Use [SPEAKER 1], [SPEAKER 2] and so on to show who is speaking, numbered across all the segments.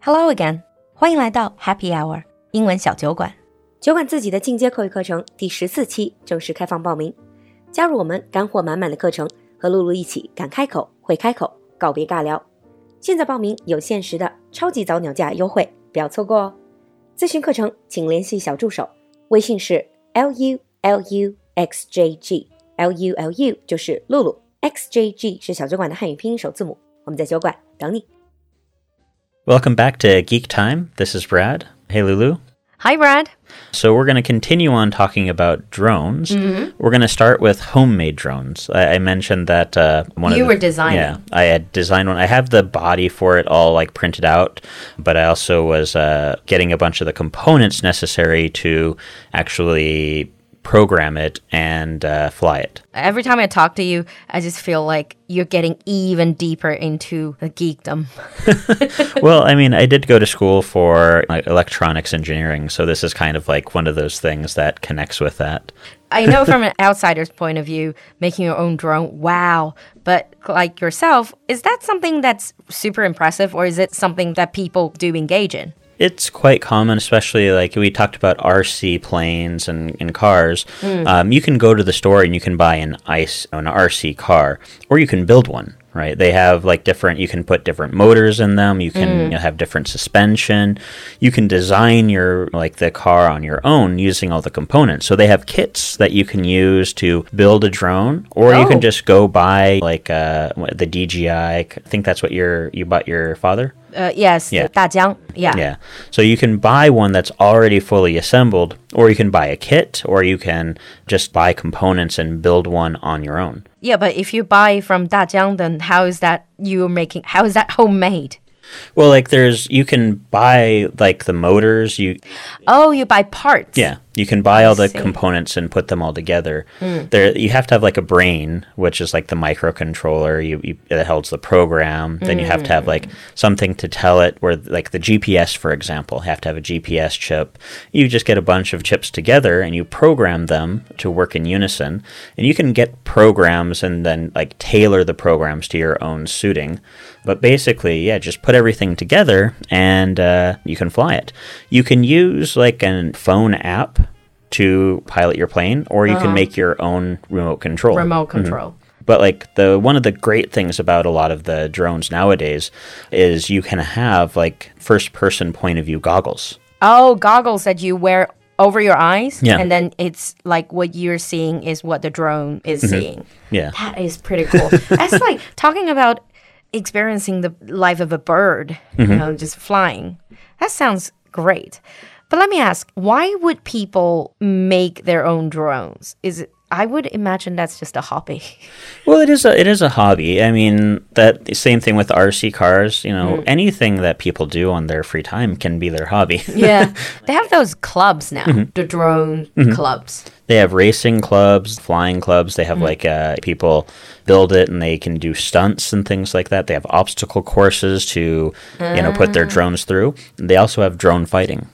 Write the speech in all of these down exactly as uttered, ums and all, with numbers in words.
[SPEAKER 1] Hello again， 欢迎来到 Happy Hour 英文小酒馆。酒馆自己的进阶口语课程第十四期正式开放报名，加入我们干货满满的课程，和露露一起敢开口会开口，告别尬聊。现在报名有限时的超级早鸟价优惠，不要错过哦。咨询课程请联系小助手，微信是 L U L U X J G， L U L U 就是露露， X J G 是小酒馆的汉语拼音首字母。我们在酒馆等你。
[SPEAKER 2] Welcome back to Geek Time. This is Brad. Hey, Lulu.
[SPEAKER 1] Hi, Brad.
[SPEAKER 2] So we're going to continue on talking about drones.
[SPEAKER 1] Mm-hmm.
[SPEAKER 2] We're going to start with homemade drones. I, I mentioned that uh, one
[SPEAKER 1] you
[SPEAKER 2] of the,
[SPEAKER 1] were designing.
[SPEAKER 2] Yeah, I had designed one. I have the body for it all like printed out, but I also was uh, getting a bunch of the components necessary to actually program it and uh, fly it.
[SPEAKER 1] Every time I talk to you, I just feel like you're getting even deeper into the geekdom.
[SPEAKER 2] Well, I mean, I did go to school for like, electronics engineering, so this is kind of like one of those things that connects with that.
[SPEAKER 1] I know from an outsider's point of view, making your own drone, wow. But like yourself, is that something that's super impressive, or is it something that people do engage in?
[SPEAKER 2] It's quite common, especially like we talked about R C planes and, and cars. Mm. Um, you can go to the store and you can buy an ICE, an R C car, or you can build one, right? They have like different, you can put different motors in them. You can mm. you know, have different suspension. You can design your, like the car on your own using all the components. So they have kits that you can use to build a drone, or oh. you can just go buy like uh, the D J I. I think that's what your, you bought your father?
[SPEAKER 1] Uh, yes,
[SPEAKER 2] yeah.
[SPEAKER 1] 大疆, yeah.
[SPEAKER 2] Yeah. So you can buy one that's already fully assembled, or you can buy a kit, or you can just buy components and build one on your own.
[SPEAKER 1] Yeah, but if you buy from 大疆, then how is that you're making, how is that homemade?
[SPEAKER 2] Well, like there's, you can buy like the motors. You
[SPEAKER 1] Oh, you buy parts.
[SPEAKER 2] Yeah. You can buy all the
[SPEAKER 1] see.
[SPEAKER 2] components and put them all together.
[SPEAKER 1] Mm.
[SPEAKER 2] There, you have to have like a brain, which is like the microcontroller you, you, that holds the program. Then you have to have like something to tell it, where like the G P S, for example, have to have a G P S chip. You just get a bunch of chips together and you program them to work in unison. And you can get programs and then like tailor the programs to your own suiting. But basically, yeah, just put everything together and uh, you can fly it. You can use like a phone app to pilot your plane, or you uh-huh. can make your own remote control.
[SPEAKER 1] Remote control.
[SPEAKER 2] Mm-hmm. But like the one of the great things about a lot of the drones nowadays is you can have like first person point of view goggles.
[SPEAKER 1] Oh, goggles that you wear over your eyes,
[SPEAKER 2] yeah.
[SPEAKER 1] and then it's like what you're seeing is what the drone is mm-hmm. seeing.
[SPEAKER 2] Yeah.
[SPEAKER 1] That is pretty cool. That's like talking about experiencing the life of a bird, mm-hmm. you know, just flying. That sounds great. But let me ask, why would people make their own drones? Is it, I would imagine that's just a hobby.
[SPEAKER 2] Well, it is a it is a hobby. I mean, that same thing with R C cars. You know, mm. anything that people do on their free time can be their hobby.
[SPEAKER 1] Yeah, they have those clubs now, mm-hmm. the drone mm-hmm. clubs.
[SPEAKER 2] They have racing clubs, flying clubs. They have mm. like uh, people build it and they can do stunts and things like that. They have obstacle courses to, uh. you know, put their drones through. And they also have drone fighting.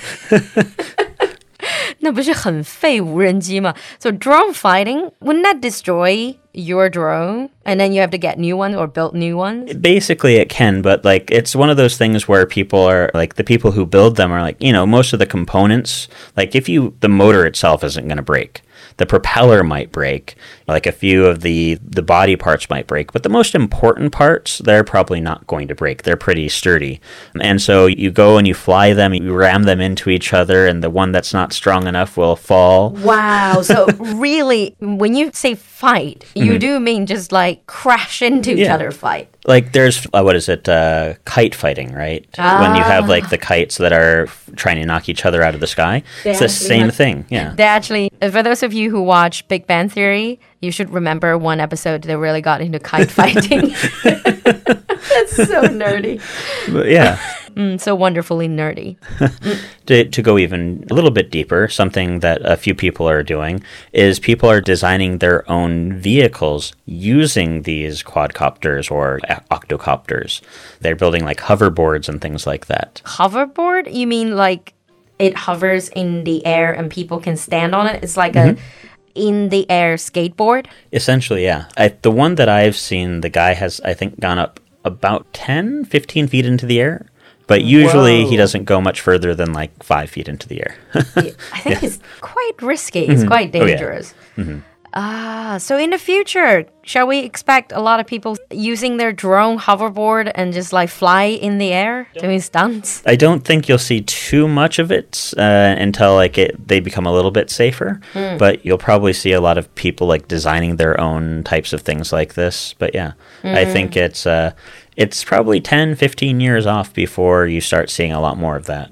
[SPEAKER 1] 那不是很废无人机吗? So drone fighting, wouldn't that destroy your drone? And then you have to get new ones or build new ones?
[SPEAKER 2] Basically it can, but like it's one of those things where people are like the people who build them are like, you know, most of the components, like if you, the motor itself isn't going to break. The propeller might break, like a few of the, the body parts might break, but the most important parts, they're probably not going to break. They're pretty sturdy. And so you go and you fly them, you ram them into each other, and the one that's not strong enough will fall.
[SPEAKER 1] Wow. So really, when you say fight, you mm-hmm. do mean just like crash into each
[SPEAKER 2] yeah.
[SPEAKER 1] other fight.
[SPEAKER 2] Like there's, uh, what is it, uh, kite fighting, right?
[SPEAKER 1] Ah.
[SPEAKER 2] When you have like the kites that are f- trying to knock each other out of the sky. They it's the same have, thing, yeah.
[SPEAKER 1] They actually, for those of you who watch Big Bang Theory, you should remember one episode that really got into kite fighting. That's so nerdy.
[SPEAKER 2] But yeah.
[SPEAKER 1] Mm, so wonderfully nerdy.
[SPEAKER 2] to, to go even a little bit deeper, something that a few people are doing is people are designing their own vehicles using these quadcopters or octocopters. They're building like hoverboards and things like that.
[SPEAKER 1] Hoverboard? You mean like it hovers in the air and people can stand on it? It's like
[SPEAKER 2] mm-hmm.
[SPEAKER 1] a in-the-air skateboard?
[SPEAKER 2] Essentially, yeah. I, the one that I've seen, the guy has, I think, gone up about ten, fifteen feet into the air. But usually
[SPEAKER 1] Whoa.
[SPEAKER 2] he doesn't go much further than like five feet into the air.
[SPEAKER 1] I think it's quite risky. It's quite
[SPEAKER 2] Oh, yeah.
[SPEAKER 1] dangerous. Ah, so in the future, shall we expect a lot of people using their drone hoverboard and just like fly in the air doing stunts?
[SPEAKER 2] I don't think you'll see too much of it uh, until like it they become a little bit safer. But you'll probably see a lot of people like designing their own types of things like this. But yeah, I think it's uh, it's probably ten, fifteen years off before you start seeing a lot more of that.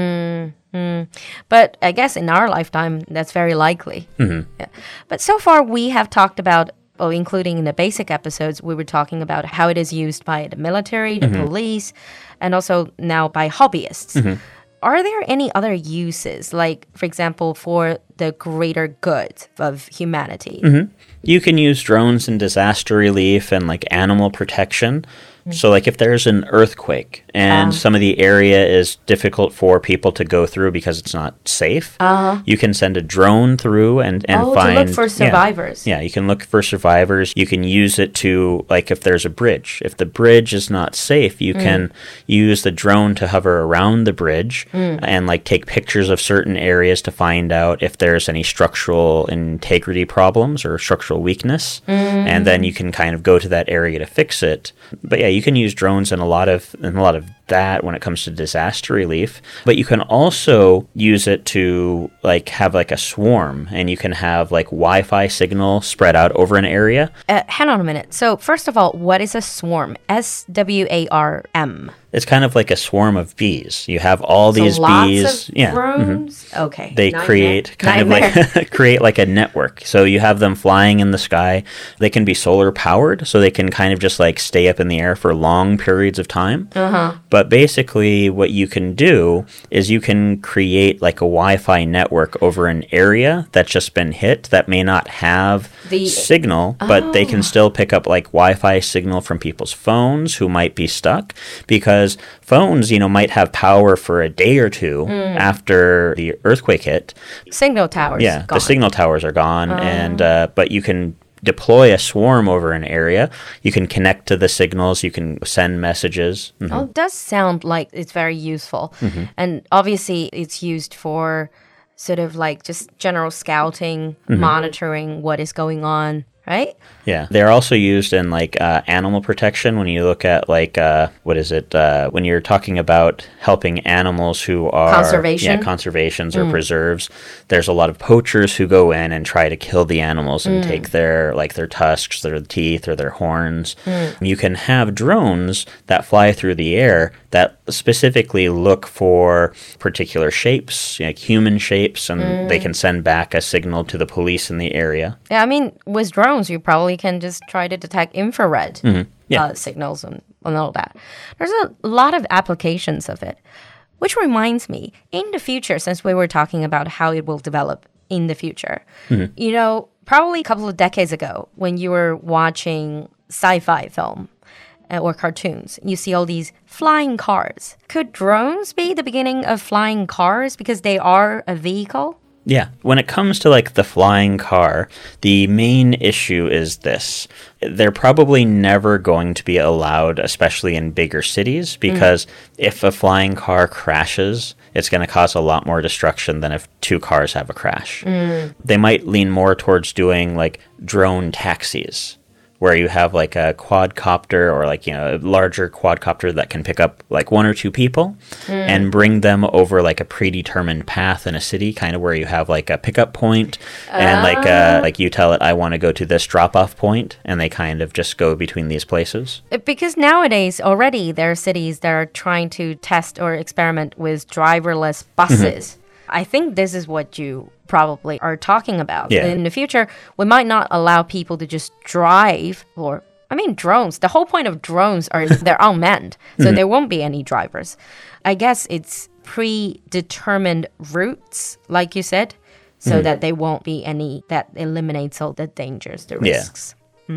[SPEAKER 1] But I guess in our lifetime, that's very likely.
[SPEAKER 2] Mm-hmm.
[SPEAKER 1] Yeah. But so far, we have talked about, well, including in the basic episodes, we were talking about how it is used by the military, the police, and also now by hobbyists. Are there any other uses, like, for example, for the greater good of humanity?
[SPEAKER 2] You can use drones in disaster relief and like animal protection. So like if there's an earthquake and some of the area is difficult for people to go through because it's not safe,
[SPEAKER 1] Uh-huh.
[SPEAKER 2] you can send a drone through and, and
[SPEAKER 1] Oh,
[SPEAKER 2] find...
[SPEAKER 1] to look for
[SPEAKER 2] yeah.
[SPEAKER 1] survivors.
[SPEAKER 2] Yeah, you can look for survivors. You can use it to, like, if there's a bridge. If the bridge is not safe, you can use the drone to hover around the bridge and, like, take pictures of certain areas to find out if there's any structural integrity problems or structural weakness. And then you can kind of go to that area to fix it. But yeah, you can use drones in a lot of in a lot of that when it comes to disaster relief. But you can also use it to like have like a swarm, and you can have like Wi-Fi signal spread out over an area.
[SPEAKER 1] Uh, hang on a minute. So, first of all, what is a swarm? S W A R M.
[SPEAKER 2] It's kind of like a swarm of bees. You have all
[SPEAKER 1] So
[SPEAKER 2] these
[SPEAKER 1] lots
[SPEAKER 2] bees.
[SPEAKER 1] of
[SPEAKER 2] yeah.
[SPEAKER 1] drones? Okay.
[SPEAKER 2] They
[SPEAKER 1] Nightmare.
[SPEAKER 2] create kind
[SPEAKER 1] Nightmare.
[SPEAKER 2] of like create like a network. So you have them flying in the sky. They can be solar powered, so they can kind of just like stay up in the air for long periods of time.
[SPEAKER 1] Uh-huh.
[SPEAKER 2] But basically, what you can do is you can create like a Wi-Fi network over an area that's just been hit that may not have
[SPEAKER 1] The-
[SPEAKER 2] signal, but they can still pick up like Wi-Fi signal from people's phones who might be stuck, because phones, you know, might have power for a day or two after the earthquake hit.
[SPEAKER 1] Signal towers.
[SPEAKER 2] Yeah,
[SPEAKER 1] gone.
[SPEAKER 2] the signal towers are gone, and uh, but you can deploy a swarm over an area. You can connect to the signals. You can send messages. Mhm.
[SPEAKER 1] Oh, it does sound like it's very useful. And obviously, it's used for sort of like just general scouting, monitoring what is going on, right?
[SPEAKER 2] Yeah, they're also used in like uh, animal protection. When you look at like uh, what is it? Uh, when you're talking about helping animals who are
[SPEAKER 1] Conservation?
[SPEAKER 2] yeah, conservations or preserves. There's a lot of poachers who go in and try to kill the animals and take their like their tusks, their teeth, or their horns. You can have drones that fly through the air that specifically look for particular shapes, like human shapes, and they can send back a signal to the police in the area.
[SPEAKER 1] Yeah, I mean, with drones, you probably can just try to detect infrared
[SPEAKER 2] Yeah.
[SPEAKER 1] uh, signals and, and all that. There's a lot of applications of it, which reminds me, in the future, since we were talking about how it will develop in the future, you know, probably a couple of decades ago, when you were watching sci-fi film uh, or cartoons, you see all these flying cars. Could drones be the beginning of flying cars because they are a vehicle?
[SPEAKER 2] Yeah. When it comes to like the flying car, the main issue is this. They're probably never going to be allowed, especially in bigger cities, because if a flying car crashes, it's going to cause a lot more destruction than if two cars have a crash. They might lean more towards doing like drone taxis, where you have like a quadcopter or like, you know, a larger quadcopter that can pick up like one or two people and bring them over like a predetermined path in a city, kind of where you have like a pickup point and like uh, like you tell it, I want to go to this drop-off point, and they kind of just go between these places.
[SPEAKER 1] Uh, Because nowadays already there are cities that are trying to test or experiment with driverless buses. I think this is what you probably are talking about.
[SPEAKER 2] Yeah.
[SPEAKER 1] In the future, we might not allow people to just drive or I mean drones. The whole point of drones are they're unmanned. So there won't be any drivers. I guess it's predetermined routes, like you said, so that there won't be any that eliminates all the dangers, the
[SPEAKER 2] Yeah.
[SPEAKER 1] risks.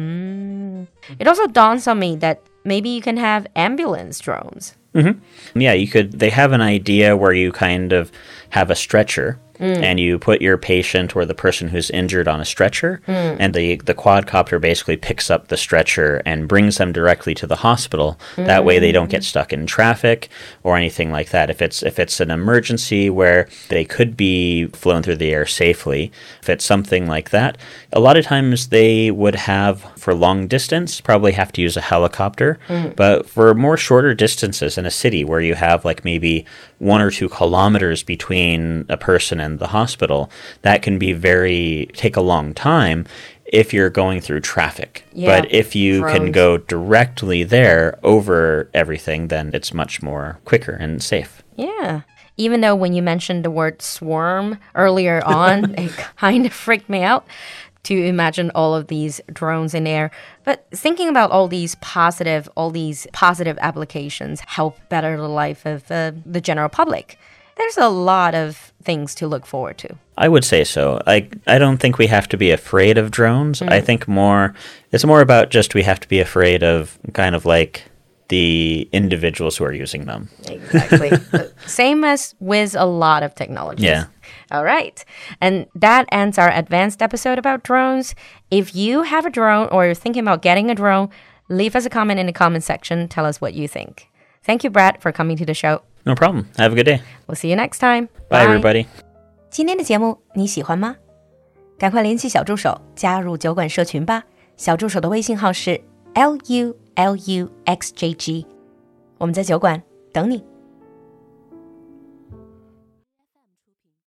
[SPEAKER 1] Mm. It also dawns on me that maybe you can have ambulance drones.
[SPEAKER 2] Yeah, you could. They have an idea where you kind of have a stretcher, and you put your patient or the person who's injured on a stretcher, and the, the quadcopter basically picks up the stretcher and brings them directly to the hospital. That way they don't get stuck in traffic or anything like that. If it's if it's an emergency where they could be flown through the air safely, if it's something like that, a lot of times they would have, for long distance, probably have to use a helicopter. Mm. But for more shorter distances in a city where you have like maybe one or two kilometers between a person and the hospital, that can be very, take a long time if you're going through traffic.
[SPEAKER 1] Yeah,
[SPEAKER 2] but if you
[SPEAKER 1] drones.
[SPEAKER 2] can go directly there over everything, then it's much more quicker and safe.
[SPEAKER 1] Yeah. Even though when you mentioned the word swarm earlier on, it kind of freaked me out to imagine all of these drones in air. But thinking about all these positive, all these positive applications help better the life of uh, the general public. There's a lot of things to look forward to.
[SPEAKER 2] I would say so. I I don't think we have to be afraid of drones. Mm. I think more, it's more about just we have to be afraid of kind of like the individuals who are using them.
[SPEAKER 1] Exactly. Same as with a lot of technologies.
[SPEAKER 2] Yeah.
[SPEAKER 1] All right. And that ends our advanced episode about drones. If you have a drone or you're thinking about getting a drone, leave us a comment in the comment section. Tell us what you think. Thank you, Brad, for coming to the show.
[SPEAKER 2] No problem. Have a good day.
[SPEAKER 1] We'll see you next time.
[SPEAKER 2] Bye, everybody.
[SPEAKER 1] 今天的节目你喜欢吗？赶快联系小助手加入酒馆社群吧。小助手的微信号是 L U L U X J G。我们在酒馆等你。